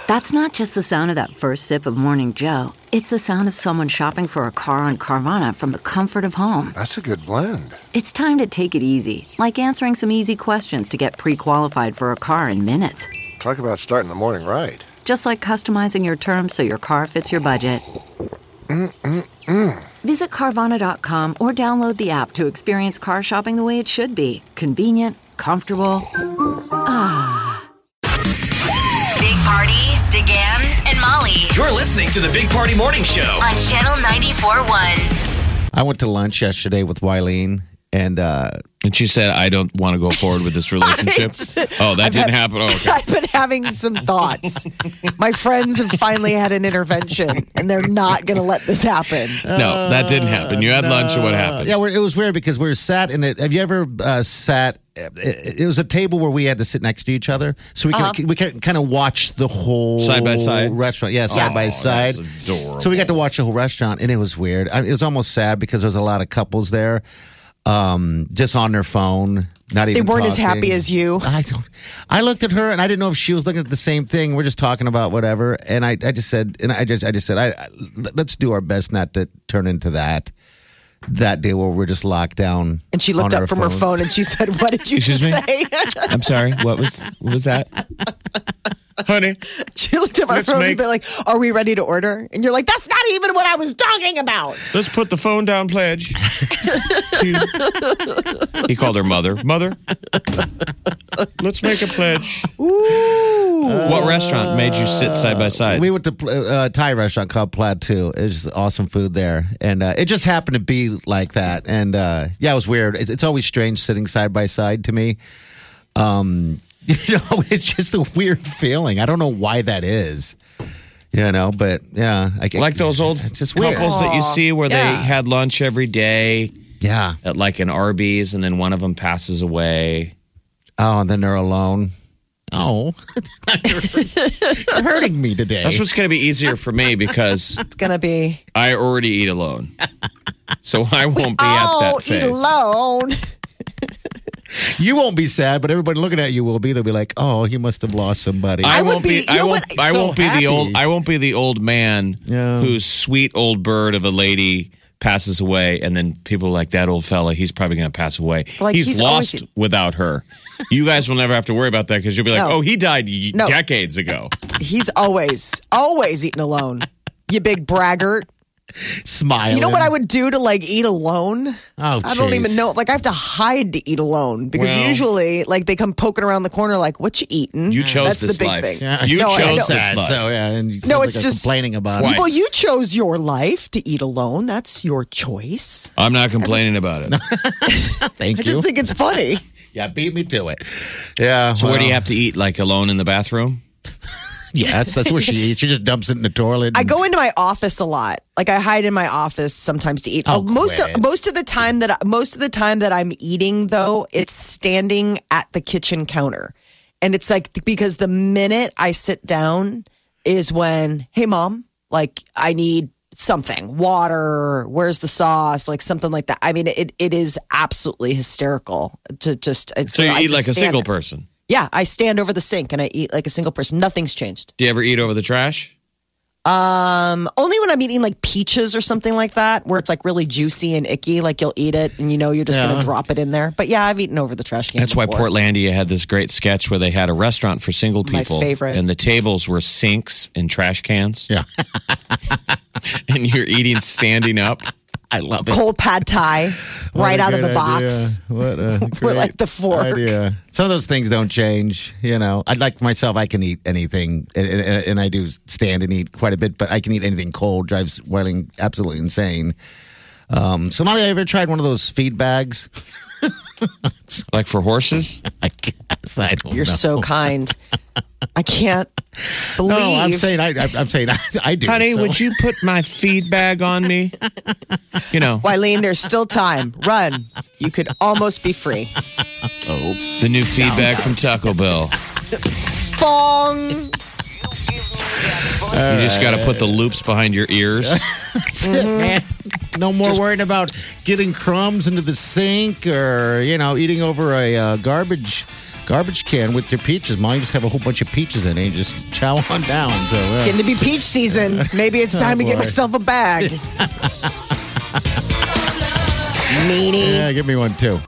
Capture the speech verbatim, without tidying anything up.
That's not just the sound of that first sip of Morning Joe. It's the sound of someone shopping for a car on Carvana from the comfort of home. That's a good blend. It's time to take it easy, like answering some easy questions to get pre-qualified for a car in minutes. Talk about starting the morning right. Just like customizing your terms so your car fits your budget. Mm-mm-mm. Visit Carvana dot com or download the app to experience car shopping the way it should be. Convenient, comfortable. Ah. Big Party, DeGan, and Molly You're listening to the Big Party Morning Show. on Channel ninety-four point one. I went to lunch yesterday with Wileen, and uh, And she said, I don't want to go forward with this relationship. Oh, that I've didn't had- happen? Oh, okay. I've been having some thoughts. My friends have finally had an intervention, and they're not going to let this happen. No, that didn't happen. You had lunch, and what happened? yeah, we're, it was weird because we were sat in it. Have you ever uh, sat? It, it was a table where we had to sit next to each other, so we Uh-huh. could we could kind of watch the whole Side by side? restaurant. Yeah, side Oh, by side. that's adorable. So we got to watch the whole restaurant, and it was weird. I, it was almost sad because there was a lot of couples there, um, just on their phone, not They even. weren't as talking. happy as you. I don't. I looked at her and I didn't know if she was looking at the same thing. We're just talking about whatever, and I, I just said, and I just, I just said, I, I let's do our best not to turn into that. That day where we're just locked down. And she looked on up from her phones. phone and she said, "What did you Excuse just me? say?" I'm sorry. What was what was that? Honey, She looked at my Let's phone make- and be like, "Are we ready to order?" And you're like, "That's not even what I was talking about." let's put the phone down, pledge. He called her mother. Mother, let's make a pledge. Ooh. What restaurant made you sit side by side? We went to uh, a Thai restaurant called Plateau. It was awesome food there, and uh, it just happened to be like that. And uh, yeah, it was weird. It's, it's always strange sitting side by side to me. Um, you know, it's just a weird feeling. I don't know why that is. You know, but yeah, I Like those old it's just weird. couples that you see where Yeah. they had lunch every day Yeah. at like an Arby's, and then one of them passes away. Oh, and then they're alone. Oh, you're hurting me today. That's what's going to be easier for me because It's going to be, I already eat alone. So I won't be at oh, that phase. eat alone. You won't be sad, but everybody looking at you will be. They'll be like, "Oh, he must have lost somebody." I, I would won't be- be. you I know won't. what? I So won't be happy. the old. I won't be the old man Yeah. whose sweet old bird of a lady passes away, and then people are like that old fella. He's probably going to pass away. Like, he's, he's lost always- without her. You guys will never have to worry about that because you'll be like, No. "Oh, he died y- No. decades ago." He's always, always eating alone. You big braggart. Smiling. You know what I would do to like eat alone? Oh, I don't jeez. even know. Like I have to hide to eat alone because Well- usually, like they come poking around the corner, like, "What you eating?" You chose That's this the big life. thing. Yeah. You No, I know. chose this Sad, life. So yeah, and you No, sound it's like just complaining about Why? it. Well, you chose your life to eat alone. That's your choice. I'm not complaining about it. Thank I you. just think it's funny. yeah, beat me to it. Yeah. So where do you well, have to eat? Like alone in the bathroom? Yes, that's where she eats. She just dumps it in the toilet. I go into my office a lot. Like I hide in my office sometimes to eat. Oh, most quit. of, most of the time that I, most of the time that I'm eating though, it's standing at the kitchen counter, and it's like because the minute I sit down is when, hey mom, like I need something, water. Where's the sauce? Like something like that. I mean, it it is absolutely hysterical to just. It's, So you I eat just like a stand- single person. Yeah, I stand over the sink and I eat like a single person. Nothing's changed. Do you ever eat over the trash? Um, only when I'm eating like peaches or something like that, where it's like really juicy and icky. Like you'll eat it and you know you're just Yeah. going to drop it in there. But yeah, I've eaten over the trash can. That's why before. Portlandia had this great sketch where they had a restaurant for single My people. favorite. And the tables were sinks and trash cans. Yeah. And you're eating standing up. I love it. cold pad thie What right a out of the great box. idea. What a With great like the fork. idea. Some of those things don't change. You know, I like myself. I can eat anything, and, and, and I do stand and eat quite a bit. But I can eat anything cold. Drives Welling absolutely insane. Um, so, Molly, have you ever tried one of those feed bags? Like for horses? I guess I don't You're know. so kind. I can't believe. No, I'm saying I, I, I'm saying I, I do. Honey, so. would you put my feed bag on me? You know, Wileen, there's still time. Run. You could almost be free. Oh, the new feed bag from Taco Bell. Bong. You just got to put the loops behind your ears. That's it, man. No more worrying about getting crumbs into the sink or, you know, eating over a uh, garbage garbage can with your peaches. Mine just have a whole bunch of peaches in it. And just chow on down. So, uh, Getting to be peach season. Maybe it's time Oh, to get boy. myself a bag. Meanie. yeah, give me one too.